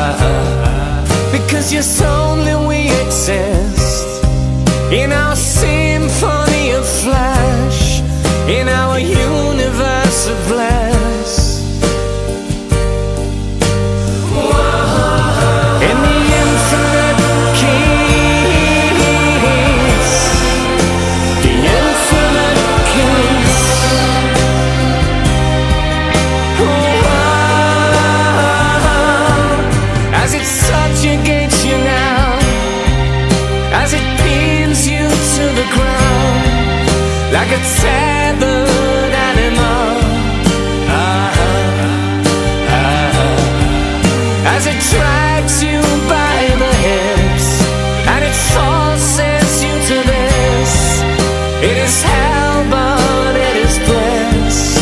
Because yes, only we exist in our symphony of flesh, in our universe of bliss. In the infinite kiss, the infinite kiss. As it subjugates you now, as it pins you to the ground like a tethered animal, as it drags you by the hips and it forces you to this. It is hell, but it is bliss.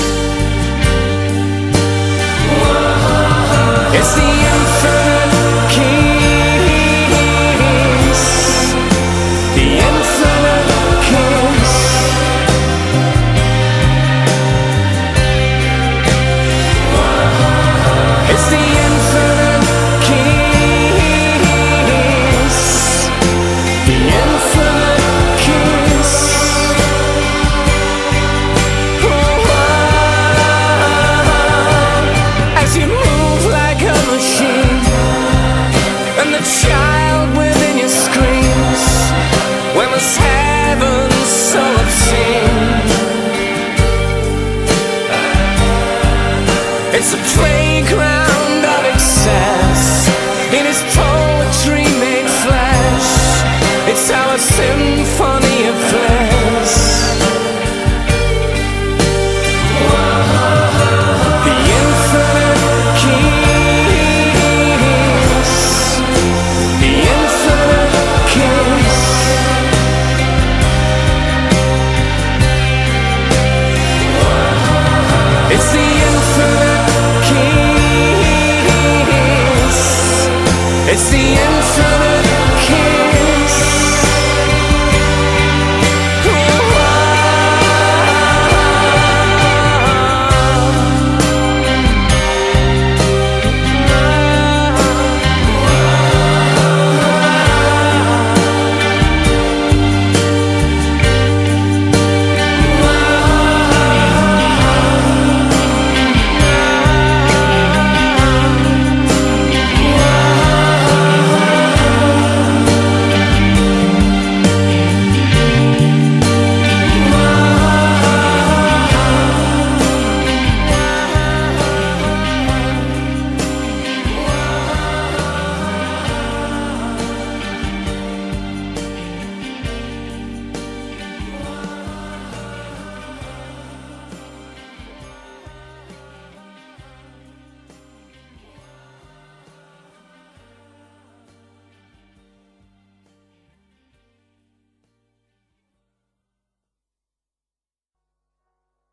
It's the infinite kiss, the infinite kiss. It's the infinite kiss, the infinite kiss. As you move like a machine, and the child within you screams, when was heaven so obscene? It's a playground of excess, it is poetry made flesh. It's our symphony of bliss. The infinite kiss, the infinite kiss. It's the infinite kiss, it's the infinite